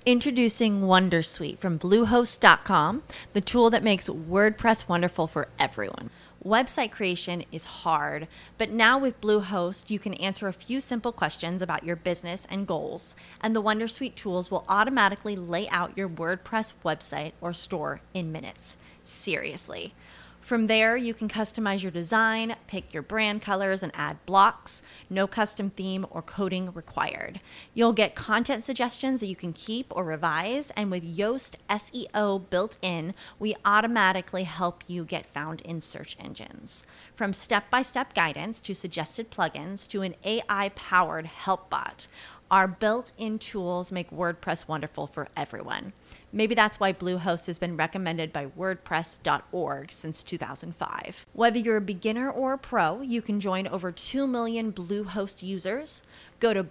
Introducing Wondersuite from Bluehost.com, the tool that makes WordPress wonderful for everyone. Website creation is hard, but now with Bluehost, you can answer a few simple questions about your business and goals, and the Wondersuite tools will automatically lay out your WordPress website or store in minutes. Seriously. From there, you can customize your design, pick your brand colors, and add blocks. No custom theme or coding required. You'll get content suggestions that you can keep or revise, and with Yoast SEO built in, we automatically help you get found in search engines. From step-by-step guidance to suggested plugins to an AI-powered help bot, our built-in tools make WordPress wonderful for everyone. Maybe that's why Bluehost has been recommended by WordPress.org since 2005. Whether you're a beginner or a pro, you can join over 2 million Bluehost users. Go to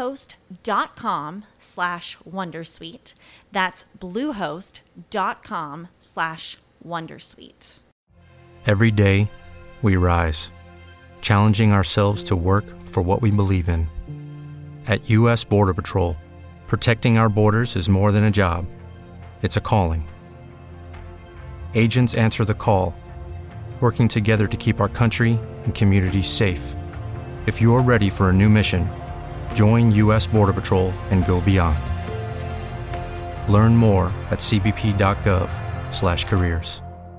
bluehost.com/wondersuite. That's bluehost.com/wondersuite. Every day, we rise, challenging ourselves to work for what we believe in. At U.S. Border Patrol, protecting our borders is more than a job. It's a calling. Agents answer the call, working together to keep our country and communities safe. If you're ready for a new mission, join U.S. Border Patrol and go beyond. Learn more at cbp.gov/careers.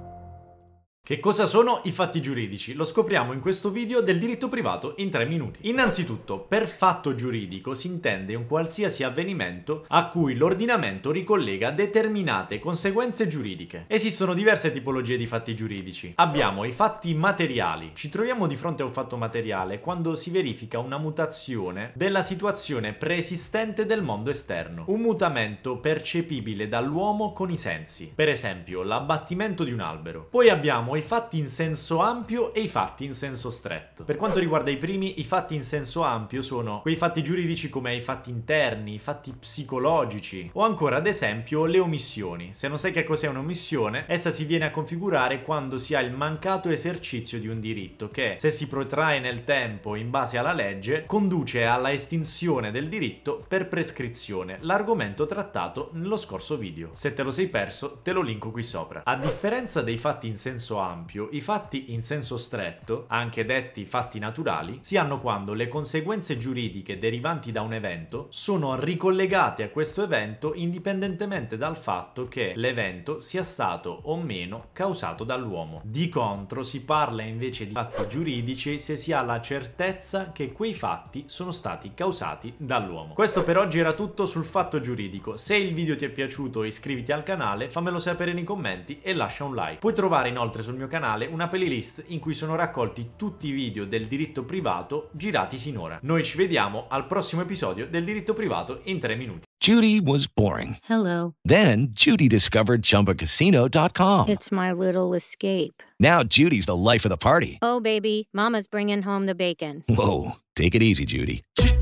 Che cosa sono i fatti giuridici? Lo scopriamo in questo video del diritto privato in 3 minuti. Innanzitutto, per fatto giuridico si intende un qualsiasi avvenimento a cui l'ordinamento ricollega determinate conseguenze giuridiche. Esistono diverse tipologie di fatti giuridici. Abbiamo i fatti materiali. Ci troviamo di fronte a un fatto materiale quando si verifica una mutazione della situazione preesistente del mondo esterno. Un mutamento percepibile dall'uomo con i sensi. Per esempio, l'abbattimento di un albero. Poi abbiamo i fatti in senso ampio e i fatti in senso stretto. Per quanto riguarda i primi, i fatti in senso ampio sono quei fatti giuridici come i fatti interni, i fatti psicologici o ancora ad esempio le omissioni. Se non sai che cos'è un'omissione, essa si viene a configurare quando si ha il mancato esercizio di un diritto che, se si protrae nel tempo in base alla legge, conduce alla estinzione del diritto per prescrizione, l'argomento trattato nello scorso video. Se te lo sei perso, te lo linko qui sopra. A differenza dei fatti in senso ampio, i fatti in senso stretto, anche detti fatti naturali, si hanno quando le conseguenze giuridiche derivanti da un evento sono ricollegate a questo evento indipendentemente dal fatto che l'evento sia stato o meno causato dall'uomo. Di contro si parla invece di fatti giuridici se si ha la certezza che quei fatti sono stati causati dall'uomo. Questo per oggi era tutto sul fatto giuridico. Se il video ti è piaciuto, iscriviti al canale, fammelo sapere nei commenti e lascia un like. Puoi trovare inoltre sul mio canale una playlist in cui sono raccolti tutti i video del diritto privato girati sinora. Noi ci vediamo al prossimo episodio del diritto privato in 3 minuti. Judy was boring. Hello. Then Judy discovered ChumbaCasino.com. It's my little escape. Now Judy's the life of the party. Oh, baby, mama's bringing home the bacon. Whoa, take it easy, Judy.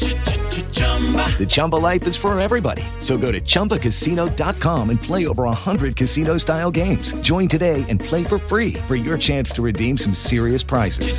The Chumba life is for everybody. So go to ChumbaCasino.com and play over 100 casino-style games. Join today and play for free for your chance to redeem some serious prizes.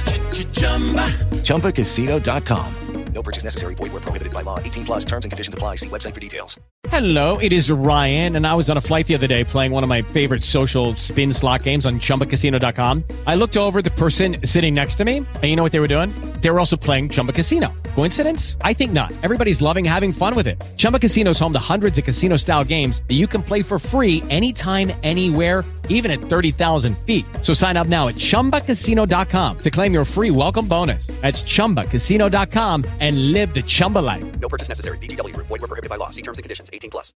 ChumbaCasino.com. No purchase necessary. Void where prohibited by law. 18 plus terms and conditions apply. See website for details. Hello, it is Ryan, and I was on a flight the other day playing one of my favorite social spin slot games on ChumbaCasino.com. I looked over at the person sitting next to me, and you know what they were doing? They were also playing Chumba Casino. Coincidence? I think not. Everybody's loving having fun with it. Chumba Casino is home to hundreds of casino-style games that you can play for free anytime, anywhere, even at 30,000 feet. So sign up now at ChumbaCasino.com to claim your free welcome bonus. That's ChumbaCasino.com and live the Chumba life. No purchase necessary. VGW. Void where prohibited by law. See terms and conditions. 18 plus.